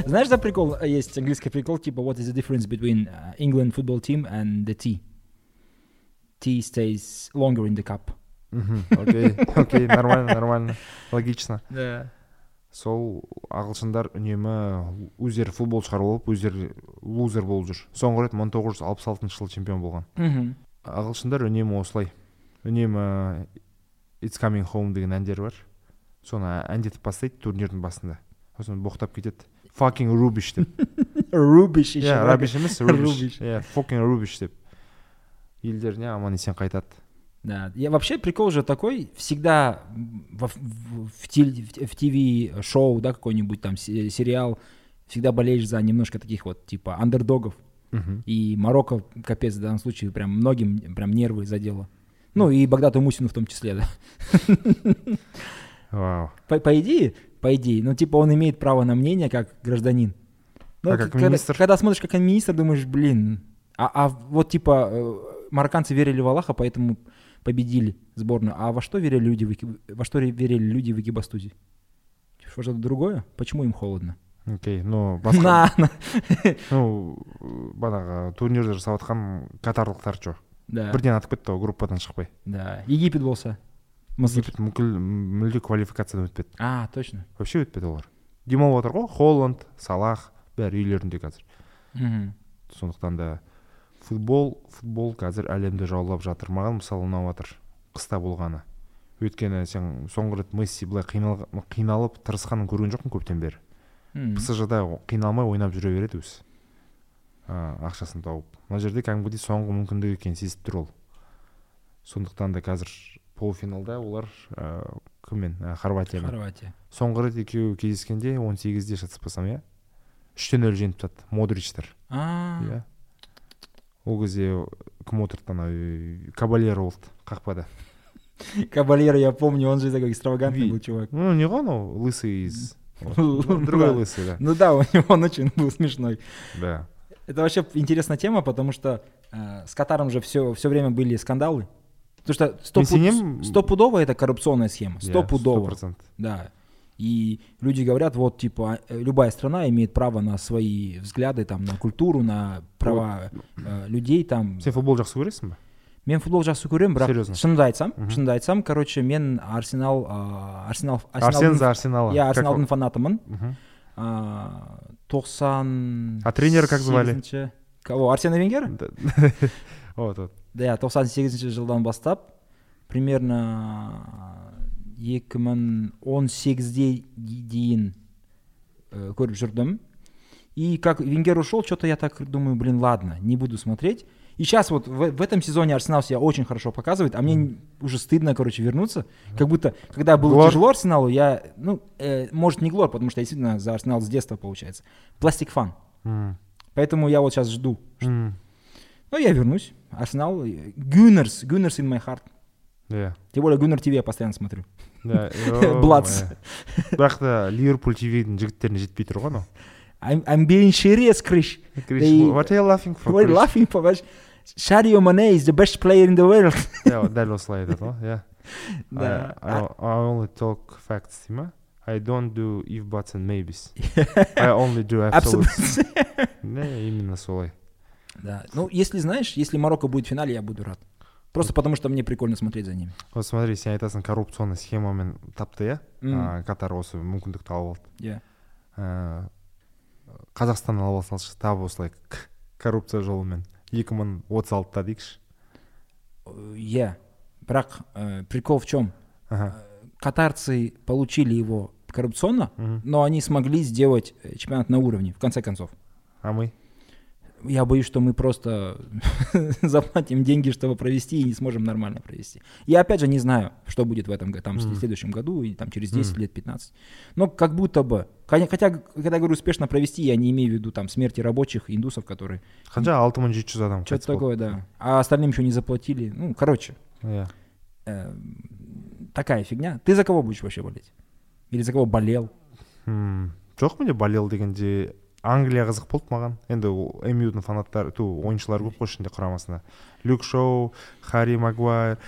Знаешь, за прикол, есть английский прикол, типа, what is the difference between England football team and the tea? Tea stays longer in the cup. Окей, нормально. Логично. Да. Сол ағылшындар үнемі өздері футбол шығарып алып, өздері лузер болып жүр. Соңғы рет 1966 жылы чемпион болған. Ағылшындар үнемі осылай. Үнемі It's Coming Home деген әндері бар. Соны әндетіп бастайды турнирдің басында. Сосын боқтап кетеді. Fucking rubbish деп. Rubbish. Rubbish емес, rubbish. Fucking rubbish деп. Елдеріне аман есен қайтады. Да. Вообще прикол же такой, всегда в ТВ-шоу, да, какой-нибудь там сериал, всегда болеешь за немножко таких вот, типа, андердогов. И Марокко, капец, в данном случае, прям многим прям нервы задело. Ну, и Багдату Мусину в том числе, да. Вау. По идее, ну, типа, он имеет право на мнение как гражданин. Ну, как министр? Когда смотришь как министр, думаешь, блин, а вот, типа, марокканцы верили в Аллаха, поэтому победили сборную. А во что верили люди в Экибастузе? Что-то другое? Почему им холодно? Окей, ну, басқа... Ну, банағы турнирді жасап атқан катарлықтар жоқ. Да. Бірден атып кетті, группадан шықпай. Да. Египет болса. Египет мүлде квалификациядан өтпеді. Точно. Вообще өтпеді олар. Демалып отыр ғой, Холланд, Салах, бәрі үйлерінде қазір. Сондықтан да футбол қазір әлемді жаулап жатыр. Маған мысалы ұнап жатыр қыста болғаны. Өйткені сен соңғы рет Месси былай қиналып тырысқанын көрген жоқпын көптен бері. ПСЖ-да қиналмай ойнап жүре береді өзі. Ақшасын тауып. Мына жерде кәдімгідей соңғы мүмкіндік екенін сезіп тұр ол. Сондықтан да қазір полуфиналда олар кіммен? Хорватиямен. Соңғы рет екеуі кездескенде 18-де шатаспасам, иә? 3-0 жеңіп тастады Модричтер. Иә. Ол кезде кім отырды? Кабальеро болды қақпада. Кабальеро, я помню, он же такой экстравагантный был чувак. Ну, не он, лысый из... Другой лысый, да. Ну да, он очень был смешной. Да. Это вообще интересная тема, потому что с Катаром же все время были скандалы. Потому что стопудово это коррупционная схема. Стопудово. 100%. Да. И люди говорят, вот, типа, любая страна имеет право на свои взгляды, там, на культуру, на права людей, там. Сен футбол жақсы көресің бе? Мен футбол жақсы көремін, бірақ шынымды айтсам, короче, мен Арсен за Арсенал. Я Арсеналдың фанатымын. 90... А тренера как звали? Кого? Арсена Венгера? Вот. Да, 98 жылдан бастап, примерно 2018-де дейін көріп жүрдім. И как Венгер ушел, что-то я так думаю, блин, ладно, не буду смотреть. И сейчас вот в этом сезоне Арсенал себя очень хорошо показывает, а мне уже стыдно, короче, вернуться. Как будто, когда было тяжело Арсеналу, я, может, не глор, потому что я действительно за Арсенал с детства, получается. Пластик фан. Поэтому я вот сейчас жду. Ну, я вернусь. Арсенал, Gunners in my heart. Yeah. Тем более Гуннер ТВ я постоянно смотрю. Бладс. Бірақ та Ливерпуль ТВ-дің жігіттеріне жетпей тұр ғой, I'm being serious, Krish. What are you laughing for? What are you laughing for? Sadio Mane is the best player in the world. Дәл осылай айтады ғой, yeah. I only talk facts, ма? I don't do if, buts and maybes. I only do absolutes. Именно солай. Да. Ну, если Марокко будет в финале, я буду рад. Просто потому, что мне прикольно смотреть за ними. Вот смотри, сен айтасың коррупционный схемамен тапты, иә? Катар осы мүмкіндік тауып алды. Иә. Қазақстан алып алсалшы, тап осылай коррупция жолымен 2036-та дейікші. Иә. Бірақ прикол в чем? Катарцы получили его коррупционно, но они смогли сделать чемпионат на уровне, в конце концов. А мы? Я боюсь, что мы просто заплатим деньги, чтобы провести, и не сможем нормально провести. Я опять же не знаю, что будет в этом там, в следующем году, и там, через 10 лет, 15. Но как будто бы, хотя, когда говорю успешно провести, я не имею в виду там смерти рабочих, индусов, которые... Хотя 6700 адам. Что-то такое, да. А остальным еще не заплатили. Ну, короче. Yeah. Такая фигня. Ты за кого будешь вообще болеть? Или за кого болел? Жоқ менде болел дегенде... Англия қызық болды маған. Енді MU-дің фанаттары, ойыншылар көп қой ішінде құрамасында. Люк Шоу, Харри Магуайр,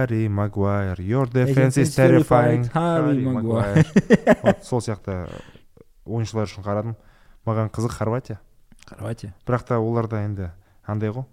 your defense is terrifying, Харри Магуайр. Сол сияқты ойыншылар үшін қарадым. маған қызық Хорватия. Бірақ та оларда енді андай ғой,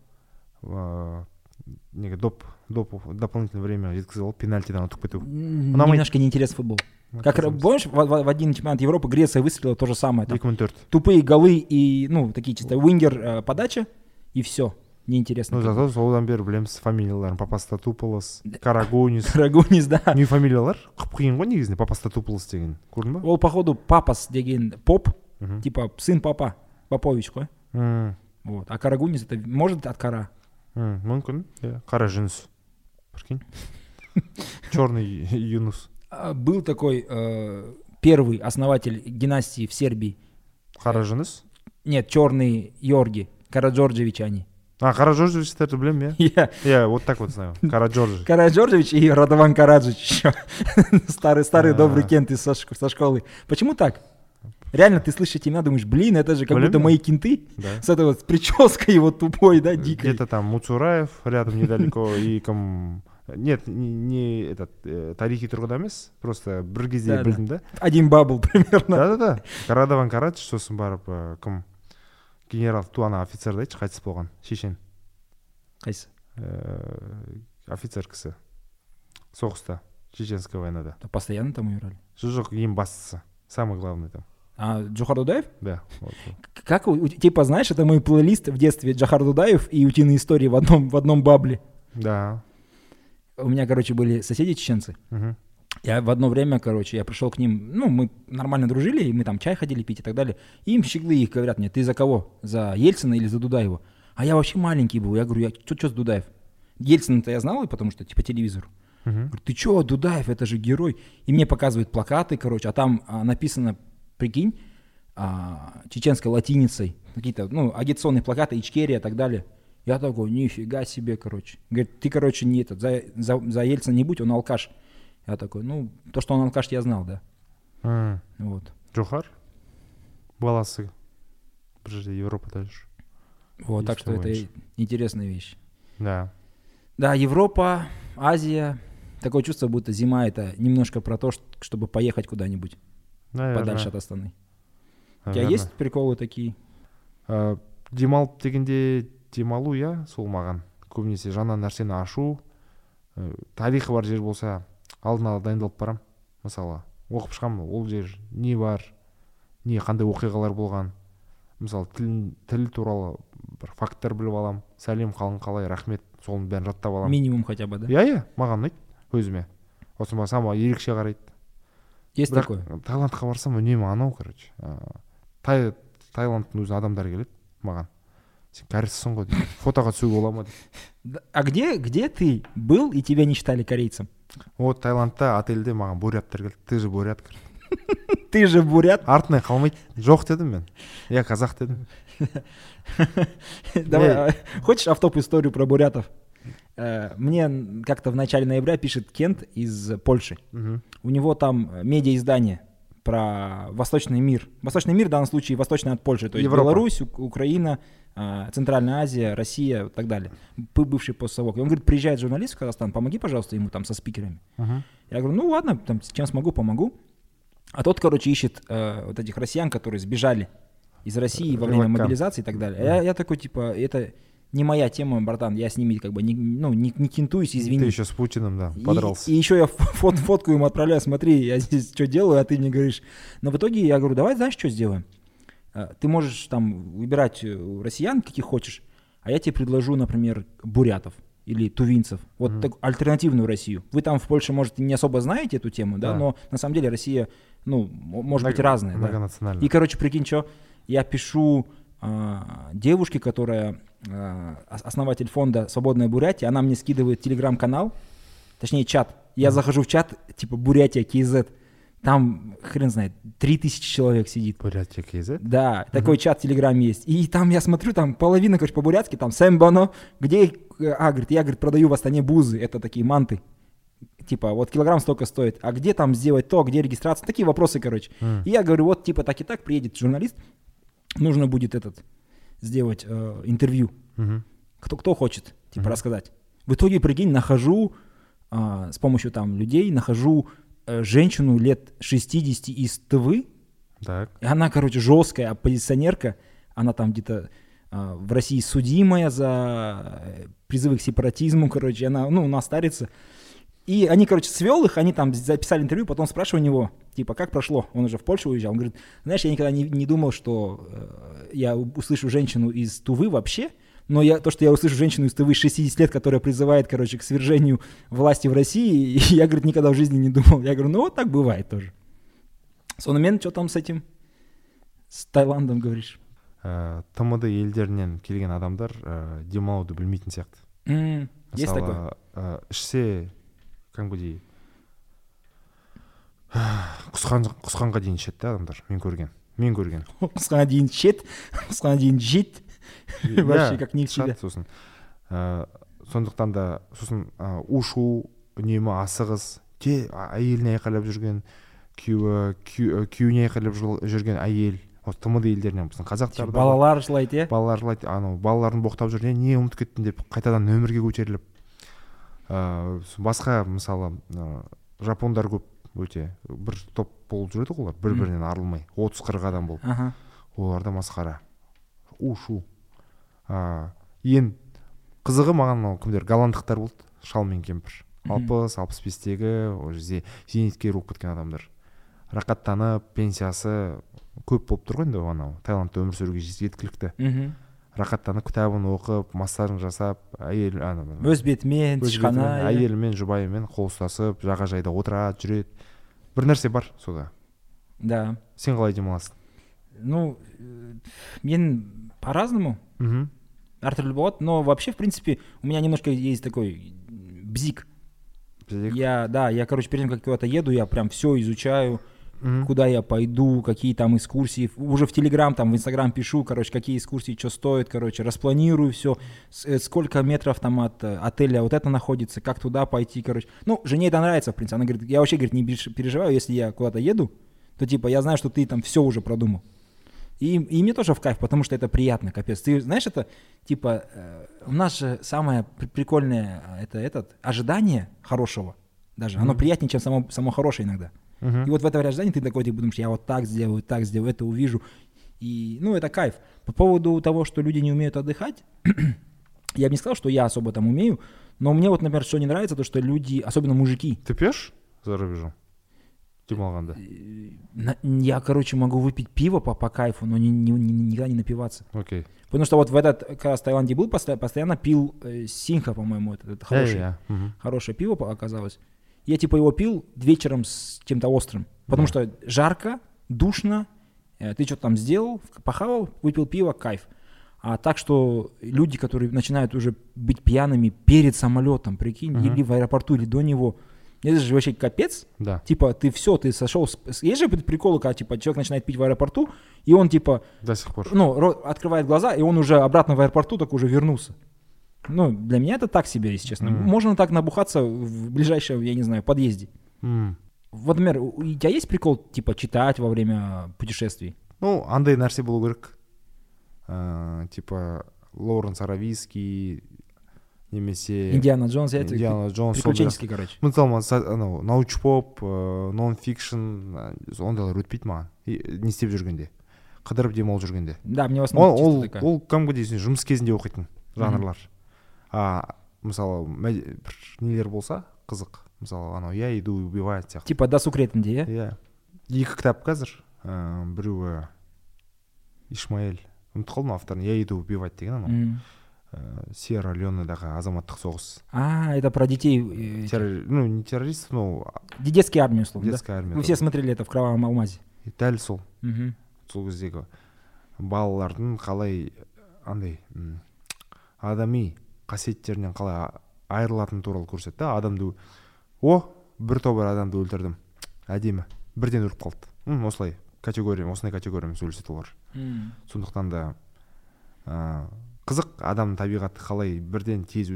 неге дополнительное время жеткізіп алып пенальтидан ұтып кету. Немножко неинтересный футбол. Как помнишь, в один чемпионат Европы Греция выстрелила то же самое. 2004. Тупые голы и, ну, такие чисто уингер подача, и все. Неинтересно. Ну, зато содан бері білеміз фамилияларын. Папастатуполос, Карагунис. Карагунис, да. Не фамилиялар қиын ғой негізінде, Папастатуполос деген. Көрдің ба? Ол, походу, Папас деген поп, типа сын папа, Попович қой. Вот. А Карагунис это может от Кара? Мүмкін, Кара Жүніс. Прикинь. Черный Юнус. Был такой первый основатель династии в Сербии. Кара Жүніс? Нет, черный Йорги, Караджорджевич они. Караджорджевичтерді білем, я вот так вот знаю. Караджорджевич. Караджорджевич и Радован Караджич еще. Старый добрый кент со школы. Почему так? Реально, ты слышишь эти имена, думаешь, блин, это же как будто мои кенты. С этой вот прической его тупой, да, дикой. Где-то там Муцураев рядом недалеко и Нет, не этот тарихи тұрғыда емес, просто бір кезде білдім, да? Один бабл примерно. Да. Радован Караджич, сосын барып кім? Генерал туана офицер да, қайтыс болған, шешен. Қайсы? Офицер кісі. Соғыста, Чеченская войнада. Постоянно там умирали? Жоқ, ең бастысы. Самый главный там. А Джохар Дудаев? Да. Вот. Как, типа, знаешь, это мой плейлист в детстве Джохар Дудаев и утиные истории в одном бабле. Да. У меня, короче, были соседи чеченцы. Я в одно время, короче, я пришел к ним, ну, мы нормально дружили, и мы там чай ходили пить и так далее. И им щеглы их говорят мне, ты за кого? За Ельцина или за Дудаева? А я вообще маленький был. Я говорю, что за Дудаев? Ельцина-то я знал, потому что, типа, телевизор. Говорю, ты что, Дудаев, это же герой. И мне показывают плакаты, короче, а там написано, прикинь, чеченской латиницей, какие-то, ну, агитационные плакаты, Ичкерия и так далее. Я такой, нифига себе, короче. Говорит, ты, короче, не этот, за Ельцина не будь, он алкаш. Я такой, ну, то, что он алкаш, я знал, да. Вот. Джохар? Баласы. Подожди, Европа дальше. Вот, так что это интересная вещь. Да. Да, Европа, Азия. Такое чувство, будто зима — это немножко про то, чтобы поехать куда-нибудь. Наверное. Подальше от Астаны. У тебя есть приколы такие? Демалып дегенде демалу, иә, сол маған. Көбінесе жаңа нәрсені ашу, тарихы бар жер болса, алдын ала дайындалып барам. Мысалы, оқып шығамын, ол жер не бар, не қандай оқиғалар болған. Мысалы, тіл туралы бір факттар біліп алам. Сәлем, қалың қалай, рахмет, соның бәрін жаттап алам. Минимум хотя бы, да? Иә, маған ұнайды өзіме. Осы сама ерекше қарайды. Есть такое? Таиландқа барсам, үнемі анау, короче. Таиландтың өзі адамдар келеді маған. Сен кәрісісің ғой дейді. Фотоға түсуге бола ма дейді. А где ты был и тебя не считали корейцем? Вот Таиландта отельде маған буряттар келді. Ты же бурят. Ты же бурят? Артынан қалмайды. Жоқ дедім мен. Я казах дедім. Давай, хочешь автоп историю про бурятов? Мне как-то в начале ноября пишет Кент из Польши. У него там медиаиздание про Восточный мир. Восточный мир в данном случае восточный от Польши. То есть Европа. Беларусь, Украина, Центральная Азия, Россия и так далее. Бывший постсовок. И он говорит, приезжает журналист в Казахстан, помоги, пожалуйста, ему там со спикерами. Я говорю, ну ладно, там, чем смогу, помогу. А тот, короче, ищет вот этих россиян, которые сбежали из России во время мобилизации и так далее. Я такой, типа, это не моя тема, братан, я с ними как бы не кентуюсь, извини. Ты еще с Путиным, да, подрался. И еще я фотку ему отправляю, смотри, я здесь что делаю, а ты мне говоришь. Но в итоге я говорю, давай, знаешь, что сделаем? Ты можешь там выбирать россиян, каких хочешь, а я тебе предложу, например, бурятов или тувинцев, вот так, альтернативную Россию. Вы там в Польше, может, не особо знаете эту тему, да, но на самом деле Россия, ну, может быть разная. Многонациональная. Да? И, короче, прикинь, что я пишу девушке, которая основатель фонда «Свободная Бурятия», она мне скидывает телеграм-канал, точнее чат. Я захожу в чат, типа Бурятия, КЗ. Там, хрен знает, 3000 человек сидит. Бурятия, КЗ? Да, такой чат в Телеграме есть. И там я смотрю, там половина, короче, по-бурятски, там «Сэмбано», где, говорит, я, говорит, продаю в Астане бузы, это такие манты. Типа, вот килограмм столько стоит, а где там сделать то, где регистрация? Такие вопросы, короче. И я говорю, вот, типа, так и так, приедет журналист, нужно будет сделать интервью. Кто хочет, типа, рассказать. В итоге, прикинь, нахожу, с помощью там людей, нахожу женщину лет 60 из Тывы, Так. И она, короче, жесткая оппозиционерка. Она там где-то в России судимая за призывы к сепаратизму, короче. Она, ну, она старится. И они, короче, свел их, они там записали интервью, потом спрашиваю у него, типа, как прошло? Он уже в Польшу уезжал. Он говорит, знаешь, я никогда не думал, что я услышу женщину из Тувы вообще, но то, что я услышу женщину из Тувы 60 лет, которая призывает, короче, к свержению власти в России, я, говорит, никогда в жизни не думал. Я говорю, ну вот так бывает тоже. Сонымен, что там с этим? С Таиландом, говоришь? ТМД елдерінен келген адамдар демалуды білмейтін сияқты. Есть такое? Ішсе, кәдімгідей құсқанға дейін ішеді да адамдар, мен көрген. Құсқанға дейін ішеді, құсқанға дейін жейді. Вообще как не в себя. Сосын сондықтан да сосын ушу, үнемі асығыс, әйеліне айқайлап жүрген, күйеуіне айқайлап жүрген әйел, ТМД елдерінен біздің қазақтарда балалар жылайды, балалар жылайды, балаларын боқтап жүрген, не ұмытып кеттің деп қайтадан нөмірге көтеріліп, басқа мысалы жапондар көп өте, бір топ болып жүреді олар, бір-бірінен арылмай, 30-40 адам болып. Оларда масқара, ушу. Ең қызығы маған кімдер голландықтар болды, шал мен кемпір, 60-65-тегі уже зейнеткер болып кеткен адамдар, рақаттанып, пенсиясы көп болып тұр ғой енді, анау Таиландта өмір сүруге жеткілікті. Рақаттанып, кітабын оқып, массажын жасап, өз бетімен, тышқана, әйелімен, жұбайымен қол ұстасып, жағажайда отырады, жүреді. Бір нәрсе бар сода. Да. Сен қалай демаласың? Ну, мен по-разному. Әртүрлі болады, но вообще, в принципе, у меня немножко есть такой бзик. Я, короче, перед тем, как куда-то еду, я прям все изучаю, куда я пойду, какие там экскурсии. Уже в Телеграм, там в Инстаграм пишу, короче, какие экскурсии, что стоит, короче, распланирую все, сколько метров там от отеля вот это находится, как туда пойти, короче. Ну, жене это нравится, в принципе. Она говорит, я вообще, говорит, не переживаю, если я куда-то еду, то типа я знаю, что ты там все уже продумал. И мне тоже в кайф, потому что это приятно, капец. Ты знаешь, это типа у нас же самое прикольное это ожидание хорошего даже. Оно приятнее, чем само хорошее иногда. И вот в этом ожидании ты такой, типа, думаешь, я вот так сделаю, это увижу. И, ну, это кайф. По поводу того, что люди не умеют отдыхать, я бы не сказал, что я особо там умею, но мне вот, например, что не нравится, то, что люди, особенно мужики. Ты пьешь за рубежом? Демалганда? Я, короче, могу выпить пиво по кайфу, но никогда не напиваться. Окей. Потому что вот в как раз в Таиланде был, постоянно пил Синха, по-моему, это хорошее пиво оказалось. Я типа его пил вечером с чем-то острым, потому что жарко, душно, ты что-то там сделал, похавал, выпил пиво, кайф. А так что люди, которые начинают уже быть пьяными перед самолетом, прикинь, или в аэропорту, или до него, это же вообще капец. Да. Типа ты сошел. Есть же приколы, когда типа человек начинает пить в аэропорту, и он типа до сих пор. Открывает глаза, и он уже обратно в аэропорту так уже вернулся. Ну, для меня это так себе, если честно. Можно так набухаться в ближайшем, я не знаю, подъезде. Вот, например, у тебя есть прикол, типа, читать во время путешествий? Ну, андай нәрсе болу керек. Типа, Лоуренс Аравийский, немесе... Индиана Джонс, приключенческий, короче. Мысалы, научпоп, нон-фикшн, ондайлар өтпейді маған. Не істеп жүргенде. Қыдырып демалып жүргенде. Да, мне в основном чисто такая. Ол кәдімгі дейсің, жұмыс кезінде оқитын жанрлар. Мысалы, бір нелер болса, қызық. Мысалы, анау, я иду убивать сияқты. Типа досуг ретінде, иә? Иә. Екі кітап қазір. Біреуі Ишмаэль. Ұмытып қалдым авторын. Я иду убивать деген анау. Сьерра Леонедағы азаматтық соғыс. Это про детей. Ну, не террористов, но... Детские армии, условно, детская армия. Вы все смотрели это в «Кровавом алмазе». Дәл сол. Сол кездегі балалардың қалай андай адами қасиеттерінен қалай айырылатыны туралы көрсетті. Адамды бір тобыр адамды өлтірдім. Әдемі. Бірден өліп қалды. Осындай категориямен сөйлеседі олар. Сондықтан да қызық, адамның табиғаты қалай бірден тез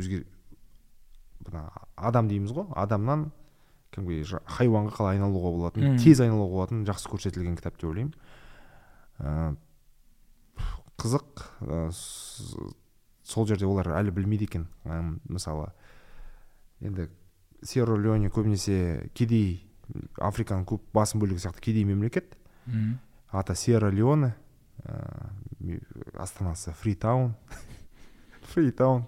адам дейміз ғой, адамнан хайуанға қалай айналуға болатын, тез айналуға болатын жақсы көрсетілген кітап деп ойлаймын. Қызық, сол жерде олар әлі білмейді екен. Мысалы, енді Сьерра Леоне көбінесе кедей, Африканың көп басым бөлігі сияқты кедей мемлекет. аты Сьерра-Леоне, астанасы Фритаун. Фритаун.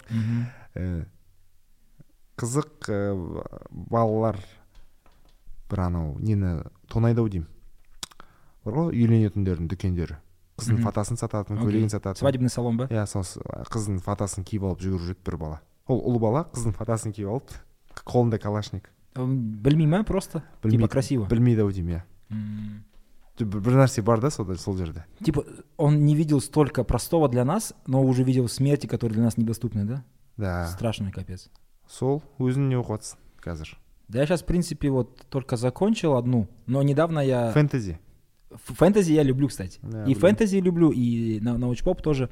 Қызық балалар бір анау нені тонайды ау деймін. Бар ғой үйленетіндердің дүкендері. Қыздың фотосын сататын, көйлегін сататын. Свадебный салон ба? Иә, сол қыздың фотосын киіп алып жүгіріп жүреді бір бала. Ол ұлы бала қыздың фотосын киіп алып, қолында калашник. Білмеймін, просто? Типа красиво. Білмейді ау деймін, иә. Бір нәрсе бар да сол жерде. Типа он не видел столько простого для нас, но уже видел смерти, которые для нас недоступны, да? Да. Страшный капец. Сол өзің не оқып жатсың қазір? Да, я сейчас, в принципе, вот только закончил одну, но недавно я... Фэнтези. Фэнтези я люблю, кстати. Да, и фэнтези люблю, и научпоп тоже.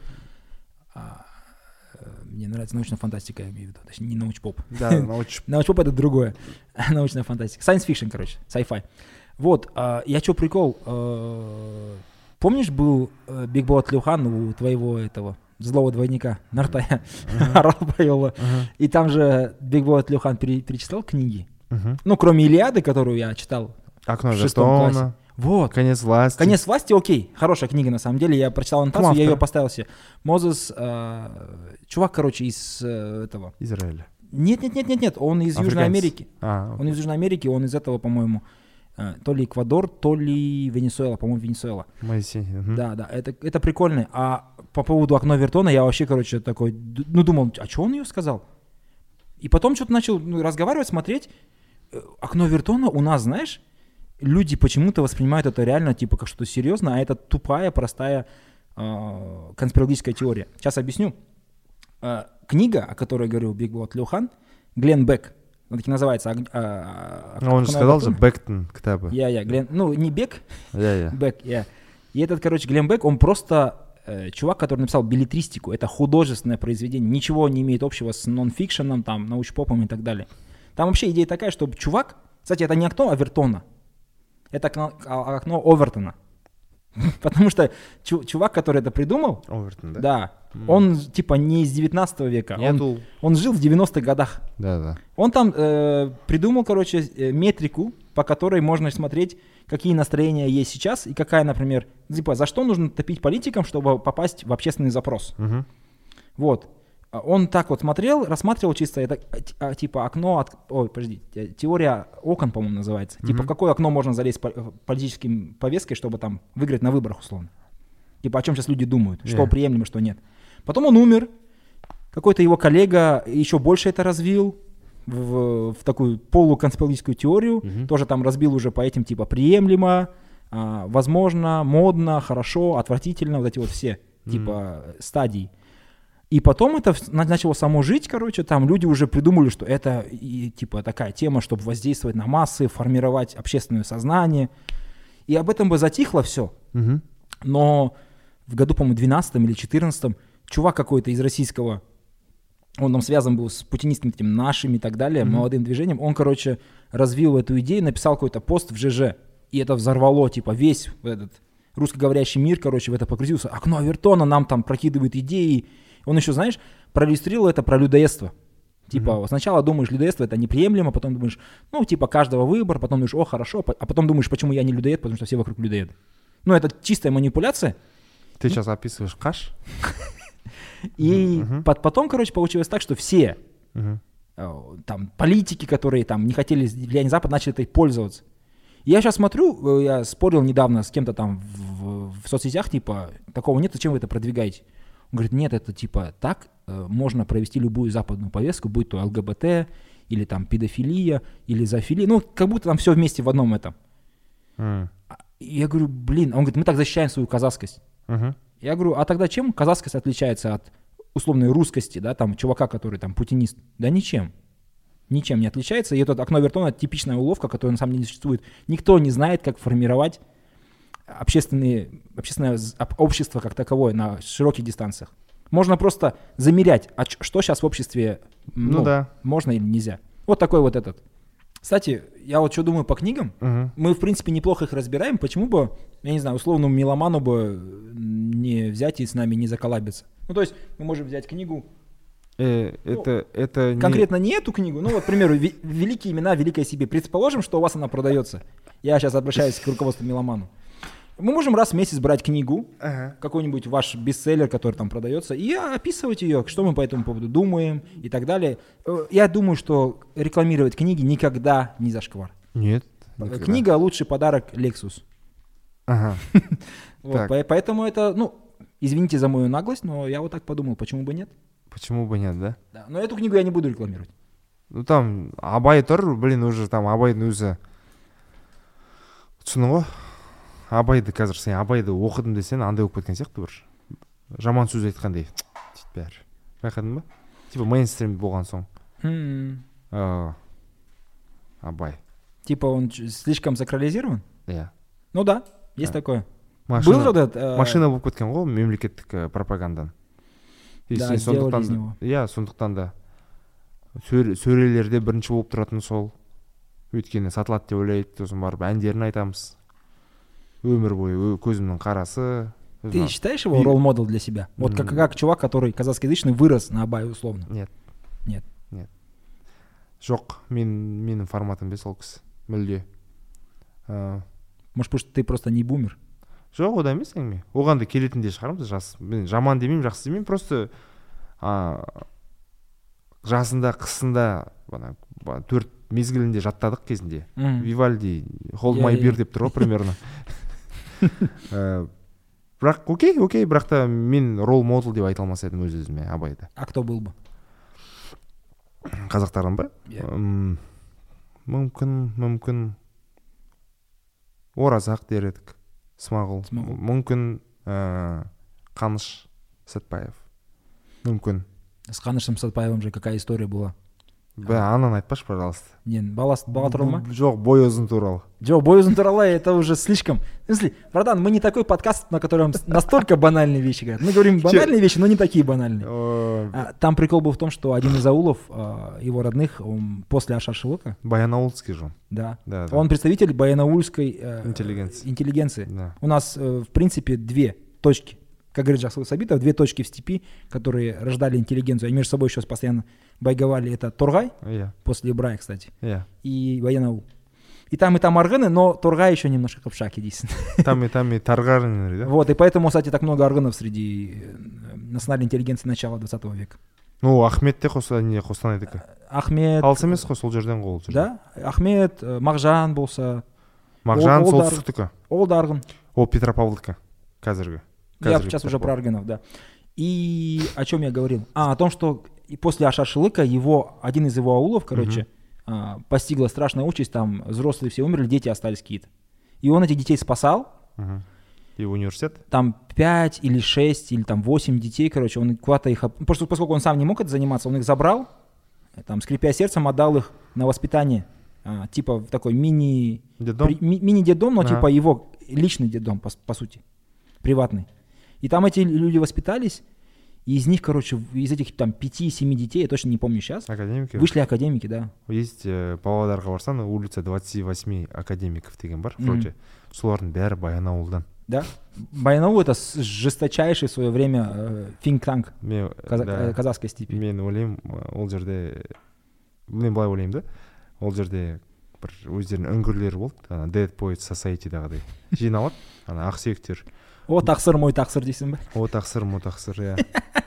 Мне нравится научная фантастика, я имею в виду. Точнее, не научпоп. Да, научпоп — это другое. Научная фантастика. Science fiction, короче, sci-fi. Вот, я что, прикол. Помнишь, был Биг Бот Люхан у твоего этого злого двойника Нартая? Арабайола. И там же Биг Бот Люхан перечитал книги. Ну, кроме Илиады, которую я читал «Окно в 6 классе. Вертона». Вот. «Конец власти». «Конец власти», окей, хорошая книга на самом деле. Я прочитал аннотацию, я ее поставил себе. Мозес, чувак, короче, из этого. Израиля. Нет, он из Южной Америки. Он из Южной Америки, он из этого, по-моему, то ли Эквадор, то ли Венесуэла, по-моему, Венесуэла. Моисей. Да, это прикольно. А по поводу «Окно Вертона» я вообще, короче, такой, думал, а что он ее сказал? И потом что-то начал разговаривать, смотреть. «Окно Вертона» у нас, знаешь, люди почему-то воспринимают это реально типа как что-то серьезное, а это тупая, простая конспирологическая теория. Сейчас объясню. Книга, о которой говорил Биг Бот Люхан, Глен Бек, она таки называется. Он же сказал же Бектон кітабы. Глен, не Бек, Бек. И этот, короче, Глен Бек, он просто чувак, который написал беллетристику. Это художественное произведение, ничего не имеет общего с нон-фикшеном, там, научпопом и так далее. Там вообще идея такая, что чувак, кстати, это не окно Овертона, это окно Овертона. Потому что чувак, который это придумал, Овертон, да? Да, он типа не из 19 века, он жил в 90-х годах. Да. Он там придумал, короче, метрику, по которой можно смотреть, какие настроения есть сейчас и какая, например, типа, за что нужно топить политикам, чтобы попасть в общественный запрос. Вот. Он так вот смотрел, рассматривал чисто это, типа, окно, теория окон, по-моему, называется. Типа, в какое окно можно залезть политическим повесткой, чтобы там выиграть на выборах, условно. Типа, о чем сейчас люди думают, что приемлемо, что нет. Потом он умер, какой-то его коллега еще больше это развил в такую полуконспирологическую теорию, тоже там разбил уже по этим, типа, приемлемо, возможно, модно, хорошо, отвратительно, вот эти вот все, типа, стадии. И потом это начало само жить, короче, там люди уже придумали, что это типа такая тема, чтобы воздействовать на массы, формировать общественное сознание. И об этом бы затихло все. Но в году, по-моему, 12 или 14 чувак какой-то из российского, он там связан был с путинистами этим нашими и так далее, молодым движением, он, короче, развил эту идею, написал какой-то пост в ЖЖ. И это взорвало, типа, весь этот русскоговорящий мир, короче, в это погрузился. «Окно Овертона» нам там прокидывает идеи. Он еще, знаешь, проиллюстрировал это про людоедство. Типа, сначала думаешь, людоедство это неприемлемо, потом думаешь, типа, каждого выбор, потом думаешь, о, хорошо, а потом думаешь, почему я не людоед, потому что все вокруг людоеды. Это чистая манипуляция. Ты сейчас описываешь каш? И потом, короче, получилось так, что все там политики, которые там не хотели влияния Запада, начали этой пользоваться. И я сейчас смотрю, я спорил недавно с кем-то там в соцсетях, типа, такого нет, зачем вы это продвигаете? Он говорит, нет, это типа так можно провести любую западную повестку, будь то ЛГБТ, или там педофилия, или зоофилия, как будто там все вместе в одном этом. Я говорю, блин, он говорит, мы так защищаем свою казахскость. Я говорю, а тогда чем казахскость отличается от условной русскости, да, там, чувака, который там путинист? Да ничем. Ничем не отличается. И это «Окно Вертона» — типичная уловка, которая на самом деле не существует. Никто не знает, как формировать общественное общество как таковое на широких дистанциях. Можно просто замерять, что сейчас в обществе можно или нельзя. Вот такой вот этот. Кстати, я вот что думаю по книгам. Мы, в принципе, неплохо их разбираем. Почему бы, я не знаю, условному меломану бы не взять и с нами не заколабиться? То есть мы можем взять книгу. Это конкретно не эту книгу, к примеру, «Великие имена, великое себе». Предположим, что у вас она продается. Я сейчас обращаюсь к руководству меломану. Мы можем раз в месяц брать книгу, какой-нибудь ваш бестселлер, который там продается, и описывать ее, что мы по этому поводу думаем и так далее. Я думаю, что рекламировать книги никогда не зашквар. Нет. Книга — лучший подарок Lexus. Ага. Вот, поэтому это, ну, извините за мою наглость, но я вот так подумал, почему бы нет? Почему бы нет, да? Да, но эту книгу я не буду рекламировать. Ну там Абай тұр, блин, уже там Абайдың өзі. Түсінің ғой? Абайды қазір сен Абайды оқыдым десең, андай болып кеткен сияқты бір. Жаман сөз айтқандай. Дейді бәрі. Байқадың ба? Типа мейнстрим болған соң. Абай. Типа он слишком сакрализирован? Иә. Ну да, есть такое. Был же этот... Машина болып кеткен ғой мемлекеттік пропагандан. Да, сделали из него. Иә, сондықтан да сөрелерде бірінші болып тұратын сол. Өйткені сатылады деп ойлайды, сосын барып әндерін айтамыз. Өмір бойы көзімнің қарасы. Ты считаешь его ролл-модел для себя? Вот как чувак, который казахскоязычный, вырос на Абае условно? Нет. Нет. Жоқ, менің форматым бе сол кісі. Мүлде. Может, потому что ты просто не бумер? Жоқ, одан емес әңгіме. Оған да келетін де шығармыз. Мен жаман демеймін, жақсы демеймін. Просто жасында, қысында 4 мезгілінде жаттадық кезінде. Вивальди, Hold My Beer деп тұр ғой примерно. Бірақ окей, бірақ та мен ролл-модел деп айта алмас едім өз-өзіме Абайды. А кто был бы? Қазақтардан ба? Мүмкін Оразақ дер едік. Смағұл. Мүмкін Қаныш Сәтпаев. Мүмкін. С Қанышем Сәтпаевым же какая история была? Ананы айтпашы, пожалуйста. Бала туралы ма? Жоқ, бой ұзын туралы. Жоқ, бой ұзын туралы это уже слишком. В смысле, братан, мы не такой подкаст, на котором настолько банальные вещи говорят. Мы говорим банальные вещи, но не такие банальные. Там прикол был в том, что один из аулов, его родных, после Ашар-Шылыка. Баянаулский же. Да. Он представитель баянаульской интеллигенции. Да. У нас, в принципе, 2 точки. Как говорит Жаксылык Сабитов, 2 точки в степи, которые рождали интеллигенцию. Они между собой еще постоянно байговали. Это Торгай, после Ибрая, кстати, и Баянаул. И там органы, но Торгай еще немножко копшак, единственное. Там и Таргарын, да? Вот, и поэтому, кстати, так много органов среди национальной интеллигенции начала 20 века. Ну, Ахмет те Қостанайдікі. Ахмет. Алыс емес қой, сол жерден ғой. Да, Ахмет, Мағжан болса. Мағжан солтүстіктікі. Ол да арғын. Ол Петропавлдікі, қазіргі. Я сейчас уже про аргынов, да. И о чем я говорил? О том, что после Ашар-Шылыка один из его аулов, постигла страшная участь, там взрослые все умерли, дети остались какие-то. И он этих детей спасал. И университет? Там 5 или 6 или там 8 детей, он куда-то их... Просто поскольку он сам не мог это заниматься, он их забрал, там, скрипя сердцем, отдал их на воспитание. Типа в такой мини-детдом, но типа его личный детдом, по сути, приватный. И там эти люди воспитались, и из них, из этих там 5-7 детей, я точно не помню сейчас, академики? Вышли академики, да. Есть Павлодарға барсаң, улица 28 академиков деген бар, вроде. Солардың бәрі Баянауылдан. Да? Баянаул — это жесточайший в свое время think-tank казахской степи. Мен ойлаймын, ол жерде, мен былай ойлаймын да, ол жерде бір өздерінің үңгірлері болды, Dead Poets Society-дағыдай. Жиналады, ақсүйектер. О тақсыр, мой тақсыр дейсің бе? О тақсыр, мой тақсыр, иә.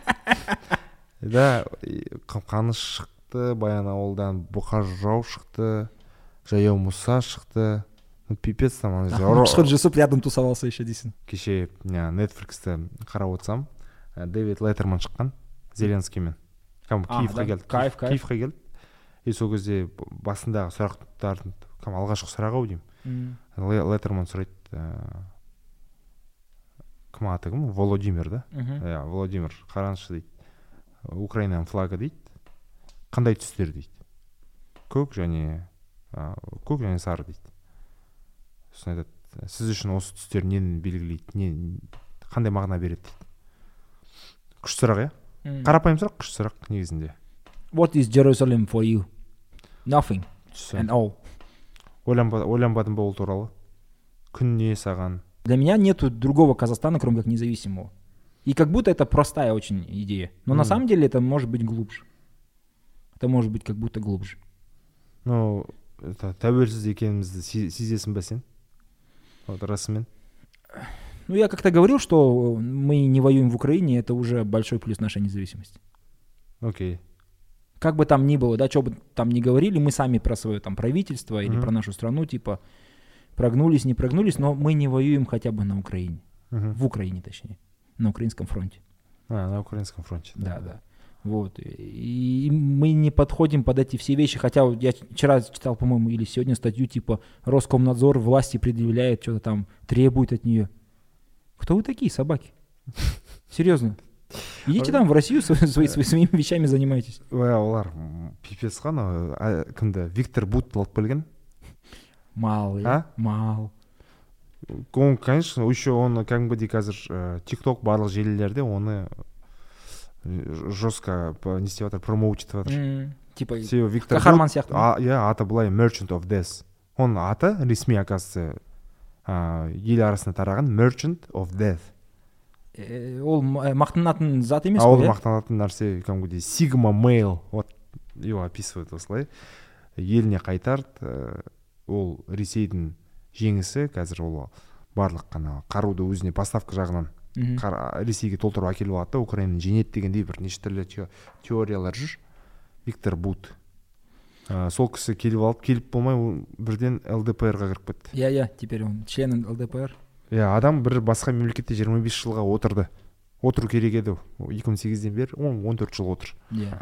Да, Қаныш шықты, Баянауылдан Бұқар Жырау шықты, Жаяу Мұса шықты. Пипец там. Мышқыр Жүсіп рядом тусовался еще дейсің. Кеше Netflix'те қарап отырсам, Дэвид Леттерман шыққан Зеленскиймен. Киевқа келді. Киевқа келді. И сол кезде басындағы сұрақтардың алғашқы сұрағы деймін. Леттерман сұрайды, кім аты кім? Володимир, да? Володимир, қараңызшы дейді. Украинаның флагы дейді. Қандай түстер дейді? Көк және сары дейді. Сосын айтады, сіз үшін осы түстер нені белгілейді, қандай мағына береді дейді. Күш сұрақ, иә? Қарапайым сұрақ, күш сұрақ негізінде. What is Jerusalem for you? Nothing and all. Ойланбадым ба ол туралы? Күн не саған? Для меня нету другого Казахстана, кроме как независимого. И как будто это простая очень идея. Но на самом деле это может быть глубже. Это может быть как будто глубже. Ну, тәуелсіз екенімізді сезесің бе сен? Вот расымен. Ну, я как-то говорил, что мы не воюем в Украине, это уже большой плюс нашей независимости. Окей. Как бы там ни было, да, что бы там ни говорили, мы сами про свое там правительство или про нашу страну, типа, прогнулись, не прогнулись, но мы не воюем хотя бы на Украине. В Украине, точнее. На украинском фронте. На украинском фронте. Да. Вот. И мы не подходим под эти все вещи, хотя вот я вчера читал, по-моему, или сегодня статью, типа, Роскомнадзор власти предъявляет, что-то там требует от нее. Кто вы такие, собаки? Серьезно. Идите там в Россию своими вещами занимайтесь. Олар пипец қой анау кімді Виктор Бут алып келген. Мал. Он, конечно, еще он кәдімгідей қазір TikTok барлық желілерде оны жестко не істеп жатыр, промоут етіп жатыр. Типа Виктор қаһарман сияқты. Иә, аты былай Merchant of Death. Оның аты ресми, оказывается, ел арасында тараған Merchant of Death. Ол мақтанатын зат емес қой. Ол иә? мақтанатын нәрсе кәдімгідей Sigma Male. Вот его описывают осылай. Еліне қайтарды. Ол Ресейдің жеңісі, қазір ол барлық қана қаруды өзіне поставка жағынан Ресейге толтырып әкеліп алады да, Украинаны жеңеді дегендей бір неше түрлі теориялар жүр. Виктор Бут. Сол кісі келіп болмай бірден ЛДПР-ға кіріп кетті. Иә, теперь он член ЛДПР. Адам бір басқа мемлекетте 25 жылға отырды. Отыру керек еді. 2008-ден бері 14 жыл отыр. Иә.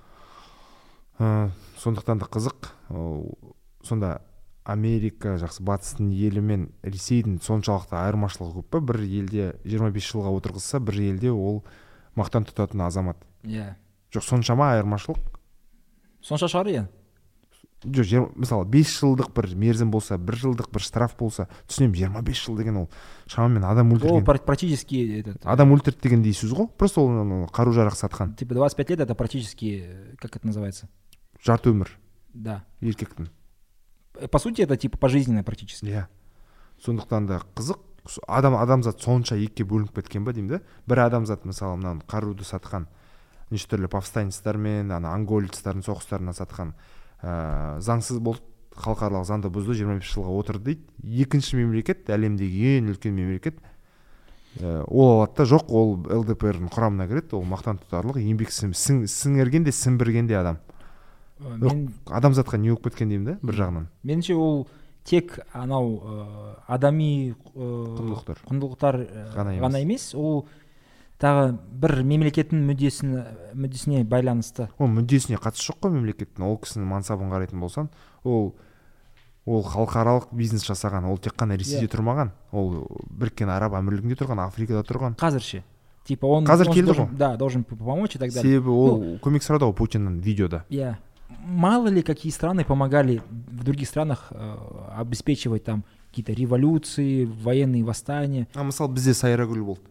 Сондықтан да қызық. Сонда Америка жақсы батыстың елі мен Ресейдің соншалықты айырмашылығы көп па? Бір елде 25 жылға отырғызса, бір елде ол мақтан тұтатын азамат. Иә. Жоқ, соншама айырмашылық? Сонша шығар иә. Жоқ, мысалы 5 жылдық бір мерзім болса, 1 жылдық бір штраф болса, түсінемін, 25 жыл деген ол шамамен адам өлтірген. Ол практически адам өлтірді деген дейсіз ғой? Просто ол қару-жарақ сатқан. Типа 25 лет это практически, как это называется? Жарты өмір. Да. Еркектің. По сути, это типа пожизненно практически. Иә. Сондықтан да қызық. Адамзат сонша екіге бөлініп кеткен ба деймін да? Бір адамзат мысалы мынаны қаруды сатқан, неше түрлі повстанецтармен, анголицтардың соғыстарына сатқан, заңсыз болды, халықаралық заңды бұзды, 25 жылға отырды дейді. Екінші мемлекет, әлемдегі ең үлкен мемлекет, ол алады да, жоқ, ол ЛДПР-дің құрамына кіреді, ол мақтан тұтарлық, еңбек сіңірген де сіңбірген де адам. Адамзатқа не болып кеткен деймін да, бір жағынан. Меніңше ол тек анау адами құндылықтар ғана емес, ол тағы бір мемлекеттің мүддесіне байланысты. Ол мүддесіне қатысы жоқ қой мемлекеттің. Ол кісінің мансабын қарайтын болсан, ол халықаралық бизнес жасаған, ол тек қана Ресейде тұрмаған, ол Біріккен Араб Әмірлігінде тұрған, Африкада тұрған. Қазірше. Типа он должен помочь и так далее. Себебі ол көмек сұрады ғой Путиннен видеода. Иә. Мало ли какие страны помогали в других странах обеспечивать там какие-то революции, военные восстания. Мысалы бізде Сайрагүл болды.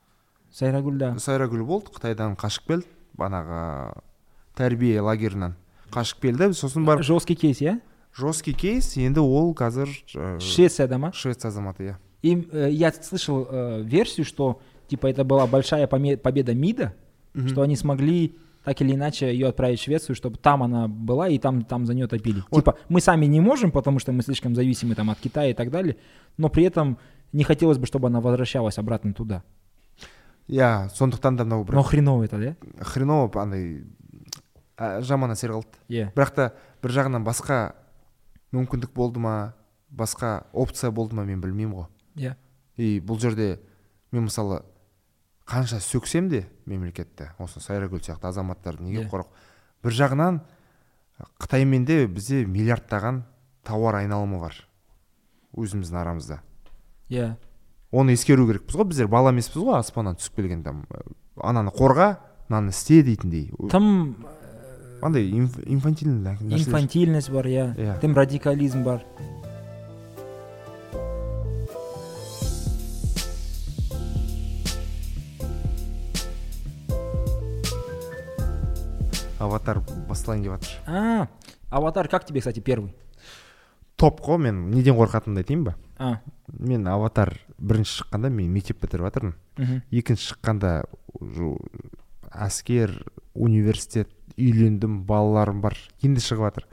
Сайрагүл болды, Қытайдан қашып келді, банаға тәрбие лагерінен қашып келді, сосын барып. Жесткий кейс, иә? Жесткий кейс, енді ол қазір Швецияда ма? Швеция азаматы, иә. И я слышал версию, что типа это была большая победа МИДа, что они смогли так или иначе ее отправить в Швецию, чтобы там она была и там за нее топили. Вот. Типа мы сами не можем, потому что мы слишком зависимы там от Китая и так далее, но при этом не хотелось бы, чтобы она возвращалась обратно туда. Иә, сондықтан да мынау бір. Но хреново это, да? Хреново, андай жаман әсер қалды. Иә. Бірақ та бір жағынан басқа мүмкіндік болды ма, басқа опция болды ма, мен білмеймін ғой. Иә. И бұл жерде мен мысалы қанша сөксем де мемлекетті, осы Сайрагүл сияқты азаматтарды неге қорық. Бір жағынан Қытаймен де бізде миллиардтаған тауар айналымы бар өзіміздің арамызда. Иә. Оны ескеру керекпіз ғой, біздер бала емеспіз ғой, аспаннан түсіп келген там ананы қорға, мынаны істе дейтіндей. Тым андай инфантильность бар, иә. Тым радикализм бар. Аватар басталайын деп жатыр. Аватар как тебе, кстати, первый? Топ қой, мен неден қорқатынымды айтайын ба? Мен Аватар бірінші шыққанда мен мектеп бітіріп жатырмын. Екінші шыққанда әскер, университет, үйлендім, балаларым бар, енді шығып жатыр.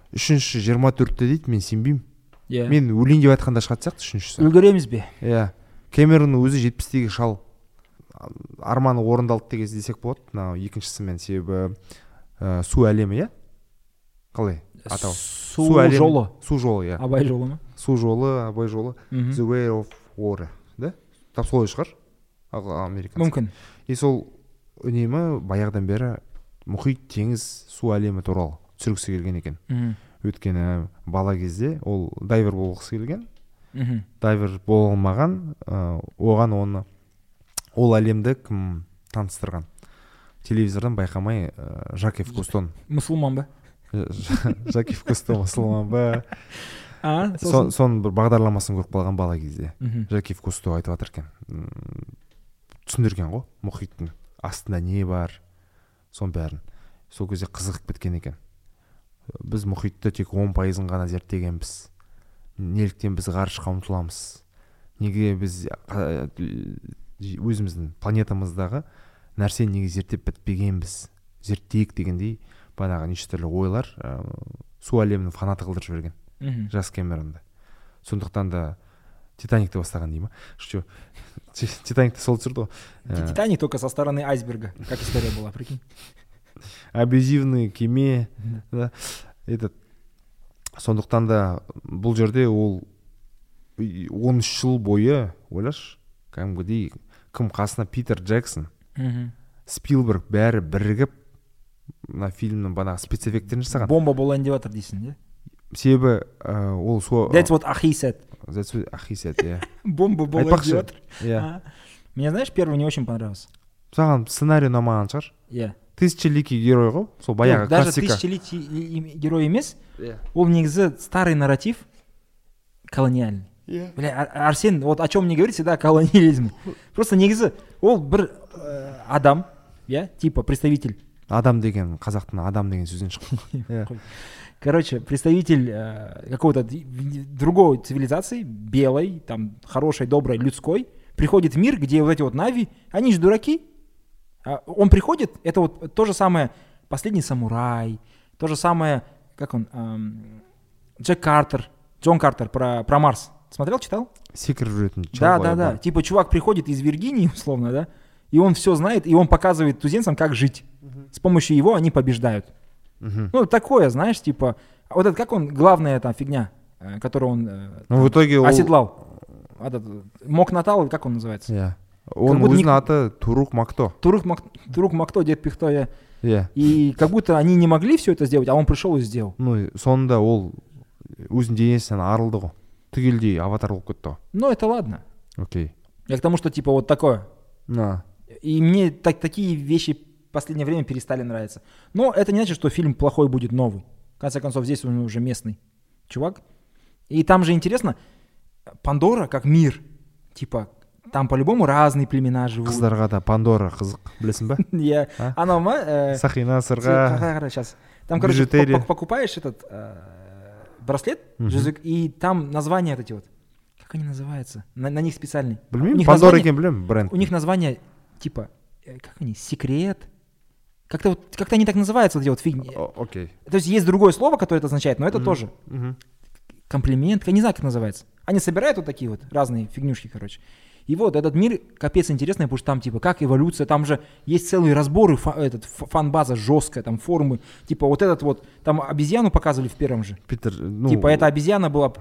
Үшінші 24-те дейді, мен сенбеймін. Мен өлейін деп айтқанда шығатын сияқты үшіншісі. Үлгереміз бе? Иә. Кэмеронның өзі 70-тегі шал. Арманы орындалды деген десек болады. Мынау екіншісімен, себебі су әлемі, иә? Қалай атау? Су жолы. Су жолы, иә. Абай жолы ма? Су жолы, Абай жолы. The Way of Water, да? Тап солай шығар. Американцы. Мүмкін. И сол үнемі баяғыдан бері мұхит, теңіз, су әлемі туралы түсіргісі келген екен. Өйткені бала кезде ол дайвер болғысы келген. Дайвер бола алмаған, оған ол әлемді кім таныстырған? Телевизордан байқамай Жакев Кустон. Мұсылман ба? Жакев Кустон мұсылман ба? Сосын бір бағдарламасын көріп қалған бала кезде. Жакев Кусто айтып жатыр екен. Түсіндірген ғой, мұхиттың астында не бар, соның бәрін. Сол кезде қызығып кеткен екен. Біз мұхитты тек 10%-ын ғана зерттегенбіз. Неліктен біз ғарышқа ұмтыламыз? Неге біз өзіміздің планетамыздағы нәрсені неге зерттеп бітпегенбіз? Зерттейік дегендей бағанағы неше түрлі ойлар су әлемінің фанаты қылдырып жіберген. Жас Кэмеронды. Сондықтан да Титаникті бастаған дей ма? Что? Титаникті сол түсірді ғой. Титаник только со стороны айсберга, как история была, прикинь. Абьюзивный кеме. Да. Сондықтан да бұл жерде ол 13 жыл бойы, ойлашы, кәдімгідей кім қасына Питер Джексон, Спилберг бәрі бірігіп мына фильмнің бағанағы спецэффекттерін жасаған. Бомба болайын деп жатыр дейсің, де? Себебі ол That's what he said. That's what he said, yeah. Бомба болайын деп жатыр. Yeah. Мне, знаешь, первый не очень понравился. Саған сценарий ұнамаған шығар? Иә. Тысячеликий герой ғой, сол баяғы классика. Даже тысячеликий герой емес, ол негізі старый нарратив колониальный. Бля, Арсен, вот о чем мне говорит всегда колониализм. Просто негізі ол бір адам, типа представитель. Адам деген, қазақтың адам деген сөзден шыққан. Короче, представитель какого-то другой цивилизации, белой, там, хорошей, доброй, людской, приходит в мир, где вот эти вот Нави, они же дураки. Он приходит, это вот то же самое «Последний самурай», то же самое, как он, Джон Картер про Марс. Смотрел, читал? Секрет жүретін. Да. Типа чувак приходит из Виргинии, условно, да, и он все знает, и он показывает туземцам, как жить. С помощью его они побеждают. Ну, такое, знаешь, типа, вот это как он, главная там фигня, которую он в итоге оседлал. Мок Натал, как он называется? Yeah. Он өзінің аты Турук Макто. Турук Макто, дед Пихто, И как будто они не могли все это сделать, а он пришел и сделал. Ну, сонда ол өзінің денесінен арылды ғой. Түгелдей аватар болып кетті. Ну, это ладно. Окей. Я к тому, что типа вот такое. На. И мне такие вещи в последнее время перестали нравиться. Но это не значит, что фильм плохой будет новый. В конце концов, здесь он уже местный чувак. И там же интересно, Пандора как мир. Типа, там по-любому разные племена живут. Қыздарға да Пандора қызық, білесің ба? Я. Анау ма? Сақина, сырға. Сейчас. Там, короче, покупаешь этот браслет, и там названия вот эти вот. Как они называются? На них специальный. Білмеймін, Пандора екен білемін, бренд. У них название, типа, как они, секрет. Как-то они так называются, вот эти вот фигни. Окей. То есть другое слово, которое это означает, но это тоже. Комплимент, я не знаю, как это называется. Они собирают вот такие вот разные фигнюшки, короче. И вот этот мир капец интересный, потому что там типа как эволюция, там же есть целые разборы, фан-база жесткая, там форумы. Типа вот этот вот, там обезьяну показывали в первом же. Питер, типа эта обезьяна была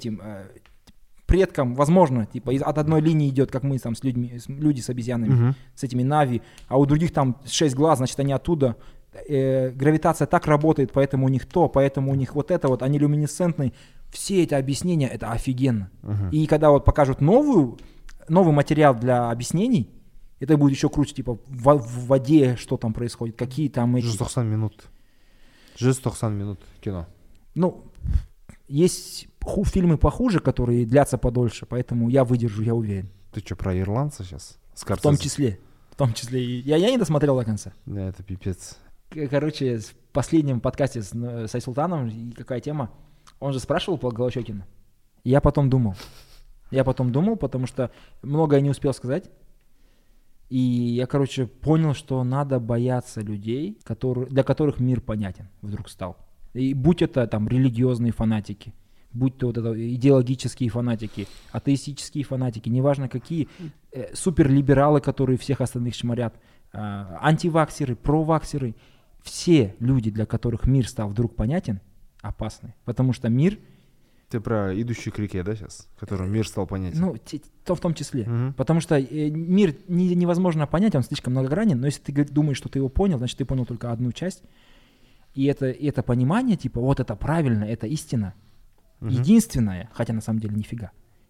предком, возможно, типа от одной линии идет, как мы там с людьми, люди с обезьянами, с этими Нави, а у других там 6 глаз, значит они оттуда. Гравитация так работает, поэтому у них поэтому у них вот это вот, они люминесцентные. Все эти объяснения, это офигенно. И когда вот покажут новый материал для объяснений, это будет еще круче, типа в воде, что там происходит, какие там эти... 190 минут. 190 минут кино. Ну, есть фильмы похуже, которые длятся подольше, поэтому я выдержу, я уверен. Ты что, про ирландца сейчас? В том числе. Я не досмотрел до конца. Да, это пипец. Короче, в последнем подкасте с Айсултаном, какая тема, он же спрашивал по Голощёкину. Я потом думал, потому что многое не успел сказать. И я, короче, понял, что надо бояться людей, для которых мир понятен вдруг стал. И будь это там религиозные фанатики, будь то вот это идеологические фанатики, атеистические фанатики, неважно какие, суперлибералы, которые всех остальных шмарят, антиваксеры, проваксеры, все люди, для которых мир стал вдруг понятен, опасны. Потому что мир... Ты про идущий к реке, да, сейчас? Которым мир стал понятен. Ну, то в том числе. Потому что мир невозможно понять, он слишком многогранен, но если ты думаешь, что ты его понял, значит, ты понял только одну часть. И это понимание, типа, вот это правильно, это истина, единственное, хотя на самом деле нифига.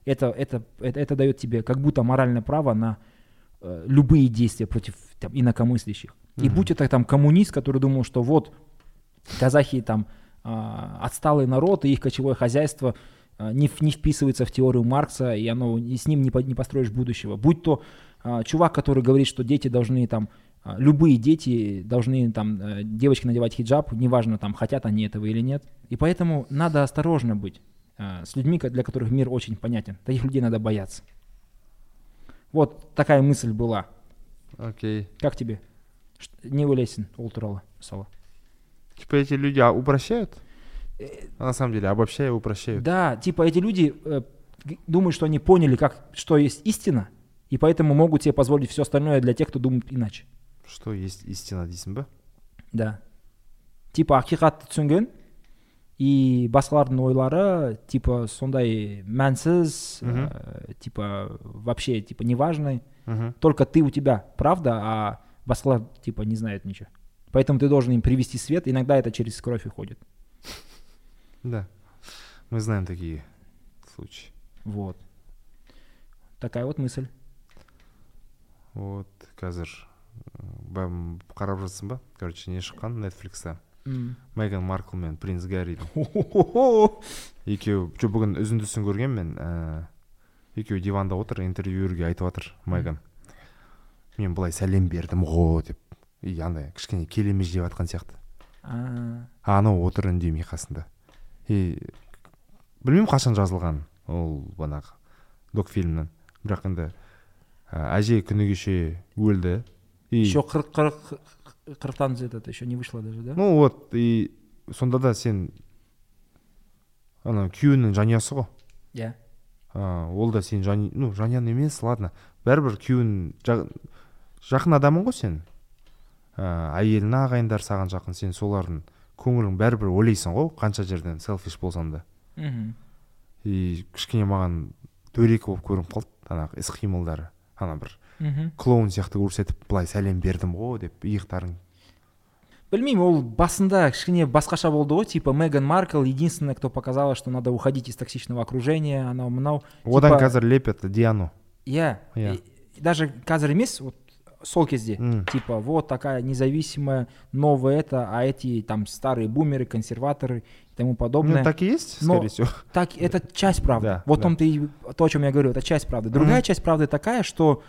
Это дает тебе как будто моральное право на любые действия против там, инакомыслящих. И будь это там коммунист, который думал, что вот казахи там отсталый народ, и их кочевое хозяйство не вписывается в теорию Маркса, и с ним не построишь будущего. Будь то чувак, который говорит, что дети должны там, любые дети должны там, девочки надевать хиджаб, неважно там, хотят они этого или нет. И поэтому надо осторожно быть с людьми, для которых мир очень понятен. Таких людей надо бояться. Вот такая мысль была. Окей. Как тебе? Не вылезен ол туралы мысалы. Типа эти люди упрощают? А на самом деле обобщая упрощают. Да, типа эти люди думают, что они поняли, что есть истина, и поэтому могут себе позволить все остальное для тех, кто думает иначе. Что есть истина дейсің бе? Да. Типа ақиқатты түсінген, и басқалардың ойлары типа сондай мәнсіз, типа вообще типа неважный. Только ты у тебя правда, а басқалар типа не знают ничего. Поэтому ты должен им привести свет. Иногда это через кровь уходит. Да, мы знаем такие случаи. Вот. Такая вот мысль. Вот, қазір қарап жатсың ба? Короче, не шыққан Netflix'та. Меган Маркл мен Принц Гарридің. Екеуі, бүгін үзіндісін көрген мен. Екеуі диванда отыр, интервьюерге айтып жатыр Меган. Мен былай сәлем бердім ғой деп. И андай кішкене келемеж деп жатқан сияқты. Анау отыр үндемей қасында. И білмеймін қашан жазылған ол банағы докфильмнен. Бірақ енді әже күні кеше өлді. Еще 40-тан это еще не вышло даже, да? Ну вот, и сонда да сен ана күйеуінің жанұясы ғой. Иә. Ол да сен жанұяң емес, ладно. Бәрібір күйеуің жақын адамың ғой сен. Әйелің, ағайындар саған жақын, сен солардың көңілің бәрібір ойлайсың ғой, қанша жерден селфиш болсам да. И кішкене маған дөрекі болып көрініп қалды, анағы іс-қимылдары. Ана бір клоун сияқты көрсетіп, былай сәлем бердім ғой деп иықтарын. Білмеймін, ол басында кішкене басқаша болды ғой, типа Меган Маркл единственная, кто показала, что надо уходить из токсичного окружения, анау-мынау. Одан қазір лепят Диану. Иә. Даже қазір емес, вот сол кезде, типа, вот такая независимая, новая а эти там старые бумеры, консерваторы и тому подобное. Ну, так и есть, скорее всего. Так, это часть правды. Да, вот да. То, о чем я говорю, это часть правды. Другая часть правды такая, что,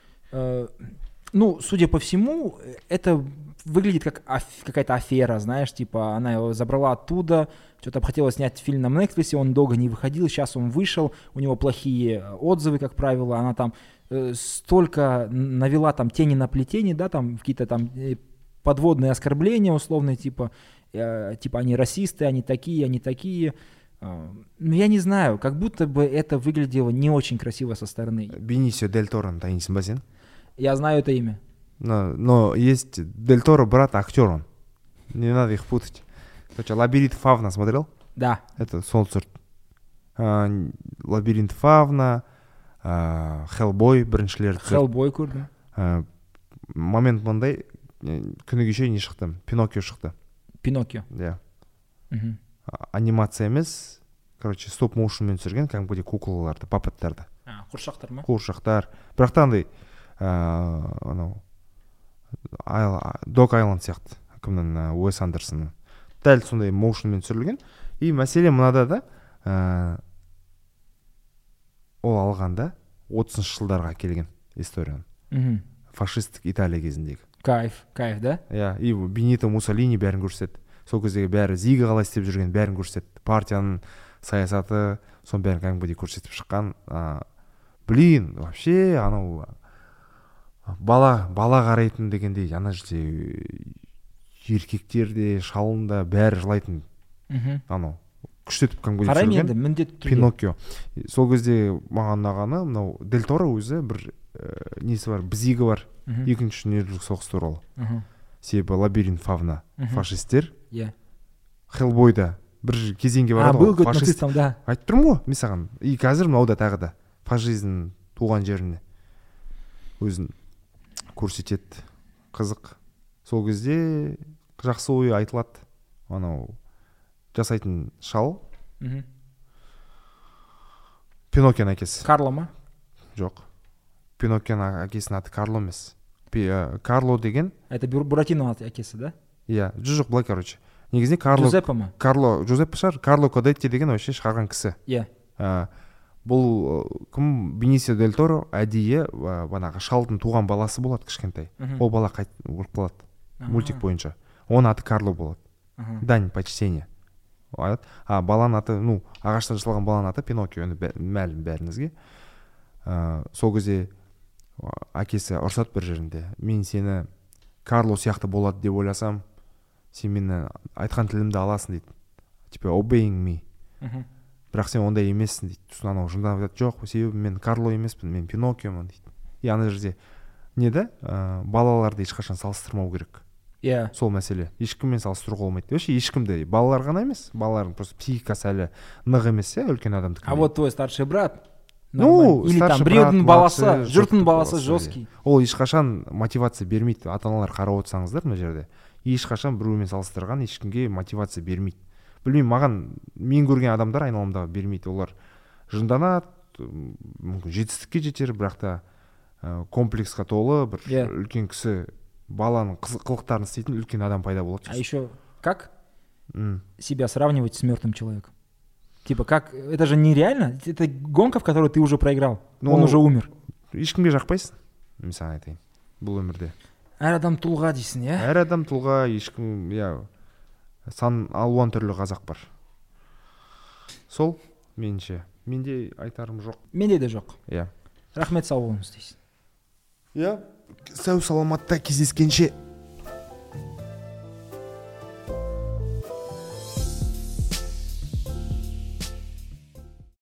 судя по всему, это выглядит как какая-то афера, знаешь, типа, она его забрала оттуда, что-то хотела снять фильм на Netflix, он долго не выходил, сейчас он вышел, у него плохие отзывы, как правило, она там столько навела там тени на плетени, да, там какие-то там подводные оскорбления условные, типа они расисты, они такие. Ну, я не знаю, как будто бы это выглядело не очень красиво со стороны. Бенисио Дель Торо, таинсың ба сен? Я знаю это имя. Но есть Дель Торо, брат, актер он. Не надо их путать. Короче, «Лабиринт Фавна» смотрел? Да. Это сол сорт. «Лабиринт Фавна», «Хеллбой» біріншілері. «Хеллбой» көрдім. Момент мындай, күні кеше не шықты? «Пиноккио» шықты. «Пиноккио». Да. Анимация емес, короче, стоп-моушнмен түсірген, кәдімгідей куклаларды, папеттарды. Қуыршақтар ма? Қуыршақтар. Бірақ та андай, анау, Dog Island сияқты, кімнің, Уэс Андерсонның. Дәл сондай моушнмен түсірілген. И мәселе мынада да, ол алғанда 30-шы жылдарға келген историяны. Фашистік Италия кезіндегі. Кайф, да? Иә, и Бенито Муссолини бәрін көрсетті. Сол кездегі бәрі Зига қалай істеп жүрген бәрін көрсетті. Партияның саясаты, сон бәрін кәдімгідей көрсетіп шыққан. Блин, вообще, анау бала қарайтын дегендей, ана жерде еркектер де, шалын да бәрі жылайтын. Анау күштетіп кәдімгідей қараймын енді түсірген міндетті түрде. Пиноккио. Сол кезде маған ұнағаны мынау Дель Торо өзі бір несі бар, бізигі бар, екінші дүниежүзілік соғыс туралы. Себебі лабиринт фавна фашистер, Хеллбойда бір кезеңге барады ғой, фашист. Айтып тұрмын ғой мен саған. И қазір мынауда тағы да фашизм туған жеріне өзін көрсетеді. Қызық. Сол кезде жақсы ой айтылады. Анау жасайтын шал. Пиноккионың әкесі. Карло ма? Жоқ. Пиноккионың әкесінің аты Карло емес. Карло деген. Это Буратино әкесі, да? Иә, жоқ, былай, короче. Негізінде Карло. Джузеппе ма? Карло, Джузеппе шығар. Карло Кодетти деген вообще шығарған кісі. Иә. Бұл кім? Бенисио дель Торо әдейі банағы шалдың туған баласы болады кішкентай. Ол бала өліп қалады. Мультик бойынша. Оның аты Карло болады. Дань почтения. Баланың аты, ағаштан жасалған баланың аты Пиноккио, мәлім бәріңізге. Сол кезде әкесі ұрсады бір жерінде. Мен сені Карло сияқты болады деп ойласам, сен мені айтқан тілімді аласың дейді. Типа obeying me. Бірақ сен ондай емессің дейді. Сосын анау жындап айтады, жоқ, себебі мен Карло емеспін, мен Пиноккиомын дейді. И ана жерде не да? Балаларды ешқашан салыстырмау керек. Иә. Сол мәселе. Ешкіммен салыстыруға болмайды. Вообще ешкімді, балалар ғана емес, балалардың просто психикасы әлі нық емес, үлкен адамдікі. А вот твой старший брат, или там біреудің баласы, жұрттың баласы жесткий. Ол ешқашан мотивация бермейді. Ата-аналар қарап отырсаңыздар мына жерде. Ешқашан біреумен салыстырған ешкімге мотивация бермейді. Білмеймін, маған мен көрген адамдар айналамдағы бермейді. Олар жынданады, мүмкін жетістікке жетер, бірақ та комплексқа толы бір үлкен кісі баланың қылықтарын істейтін үлкен адам пайда болады. А еще как себя сравнивать с мертвым человеком? Типа как, это же нереально, это гонка, в которой ты уже проиграл, он уже умер. Ешкімге жақпайсың, мен саған айтайын, бұл өмірде. Әр адам тұлға дейсің, иә? Әр адам тұлға, ешкім, сан алуан түрлі қазақ бар. Сол, менше. Менде айтарым жоқ. Менде де жоқ. Иә. Рахмет, сау болыңыз дейсің. Иә, сау саламатта кездескенше.